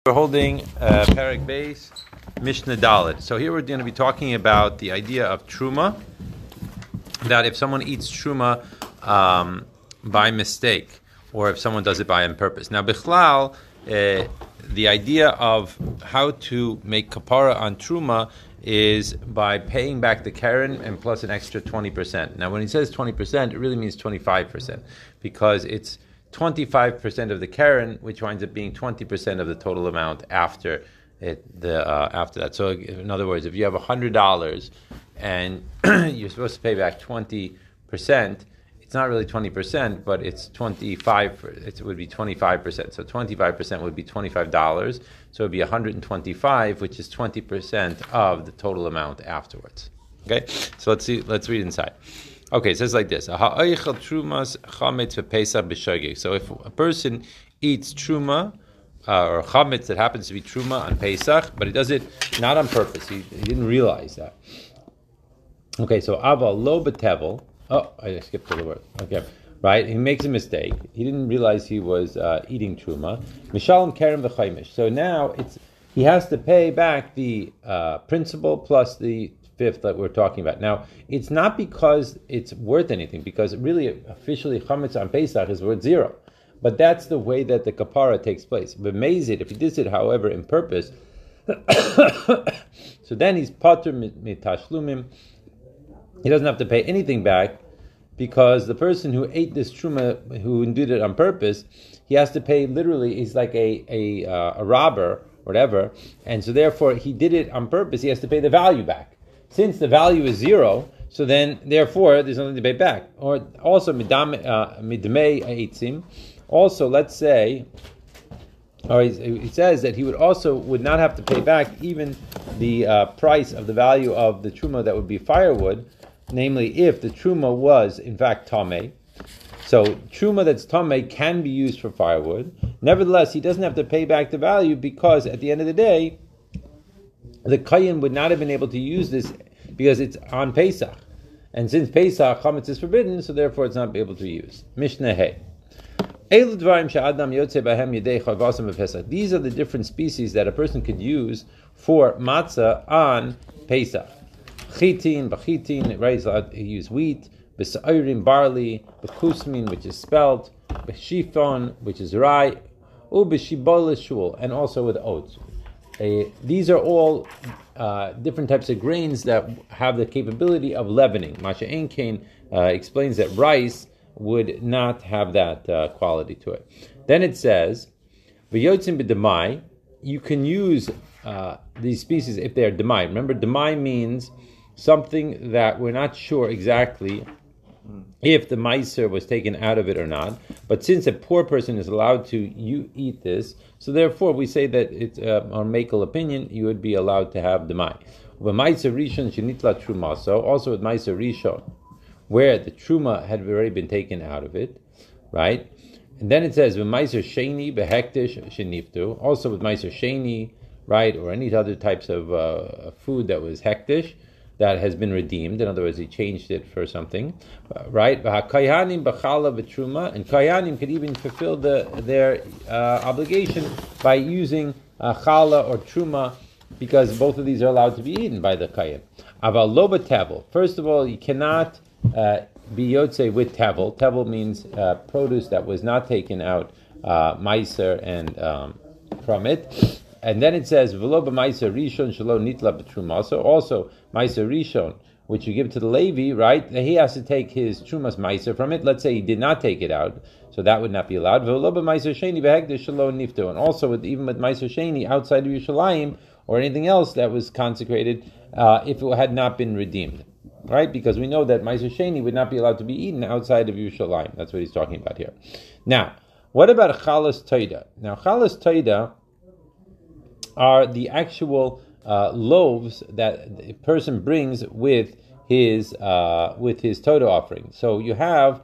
We're holding Perek Beis, Mishnah Dalet. So here we're going to be talking about the idea of Truma, that if someone eats Truma by mistake, or if someone does it by on purpose. Now, Bichlal, the idea of how to make kapara on Truma is by paying back the Karen and plus an extra 20%. Now, when he says 20%, it really means 25%, because it's 25% of the Karen, which winds up being 20% of the total amount after after that. So, in other words, if you have $100 and you're supposed to pay back 20%, it's not really 20%, but it's 25. It would be 25%. So 25% would be $25. So it would be 125, which is 20% of the total amount afterwards. Okay, so let's see. Let's read inside. Okay, it says like this. So if a person eats truma or chametz that happens to be truma on Pesach, but he does it not on purpose, he didn't realize that. Okay, so aval lo betevel. Oh, I skipped the word. Okay, right. He makes a mistake. He didn't realize he was eating truma. Mishalom kerem v'chaimish. So now he has to pay back the principal plus the fifth that we're talking about. Now, it's not because it's worth anything, because really, officially, chametz on Pesach is worth zero. But that's the way that the kapara takes place. But mazid, if he did it, however, in purpose, so then he's patur mitashlumim. He doesn't have to pay anything back, because the person who ate this truma, who did it on purpose, he has to pay literally. He's like a robber, whatever, and so therefore he did it on purpose. He has to pay the value back. Since the value is zero, so then therefore there's nothing to pay back. Or also midmei eitzim. Also, let's say, or he says that he would not have to pay back even the price of the value of the truma that would be firewood, namely if the truma was in fact tamei. So truma that's tamei can be used for firewood. Nevertheless, he doesn't have to pay back the value, because at the end of the day, the Kayin would not have been able to use this because it's on Pesach. And since Pesach, chametz is forbidden, so therefore it's not able to use. Mishnah Hey. These are the different species that a person could use for matzah on Pesach. Chitin, bachitin, right? He used wheat, b'sa'orim, barley, b'kusmin, which is spelt, b'shifon, which is rye, u'b'shibol shul, and also with oats. These are all different types of grains that have the capability of leavening. Masha Enkain explains that rice would not have that quality to it. Then it says, "V'yotzim b'demai." You can use these species if they are demai. Remember, demai means something that we're not sure exactly if the meiser was taken out of it or not. But since a poor person is allowed to eat this, so therefore we say that it's on makel opinion, you would be allowed to have demai. Meiser rishon shenitla truma. So also with meiser rishon, where the truma had already been taken out of it, right? And then it says meiser sheni behektish sheniftu. Also with meiser sheni, right, or any other types of food that was hektish, that has been redeemed. In other words, he changed it for something, right? Kayanim b'chala v'truma, and kayanim could even fulfill their obligation by using chala or truma, because both of these are allowed to be eaten by the kayan. Aval lo b'tevel. First of all, you cannot be yotze with tevel. Tevel means produce that was not taken out, meiser and from it. And then it says, "V'lo b'meiser rishon shelo nitla b'truma." So also meiser rishon, which you give to the Levi, right? He has to take his trumas meiser from it. Let's say he did not take it out, so that would not be allowed. V'lo b'meiser sheni behekdesh shelo niftu. And also even with meiser sheni outside of Yerushalayim or anything else that was consecrated, if it had not been redeemed, right? Because we know that meiser sheni would not be allowed to be eaten outside of Yerushalayim. That's what he's talking about here. Now, what about chalas toida? Now, chalas toida are the actual loaves that a person brings with his Todah offering. So you have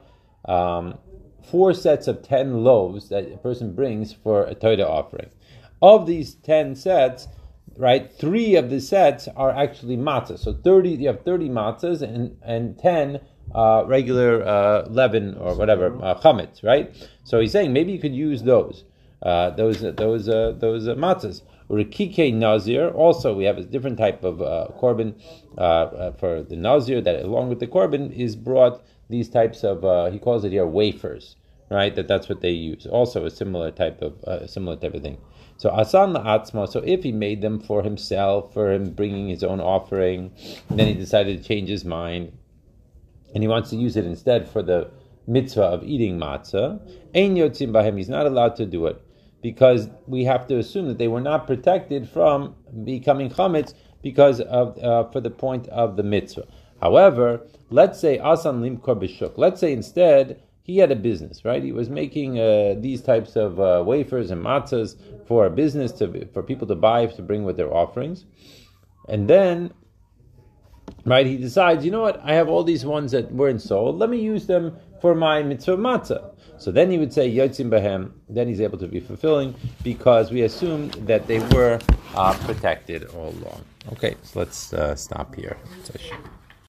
4 sets of 10 loaves that a person brings for a Todah offering. Of these 10 sets, right, 3 of the sets are actually matzahs. So you have 30 matzahs and 10 regular leaven or whatever chametz, right? So he's saying maybe you could use those. those matzahs. Urikike Nazir, also we have a different type of korban for the Nazir that along with the korban is brought these types of, he calls it here wafers, right? That's what they use. Also a similar type of thing. So asan la'atzma, so if he made them for himself, for him bringing his own offering, and then he decided to change his mind, and he wants to use it instead for the mitzvah of eating matzah, ein yotzim bahem, he's not allowed to do it, because we have to assume that they were not protected from becoming chametz because of for the point of the mitzvah. However, let's say asan limkor b'shuk. Let's say instead he had a business, right? He was making these types of wafers and matzahs for a business for people to buy to bring with their offerings, and then, right, he decides, you know what? I have all these ones that weren't sold. Let me use them for my mitzvah matzah. So then he would say yotzim bahem. Then he's able to be fulfilling because we assumed that they were protected all along. Okay, so let's stop here.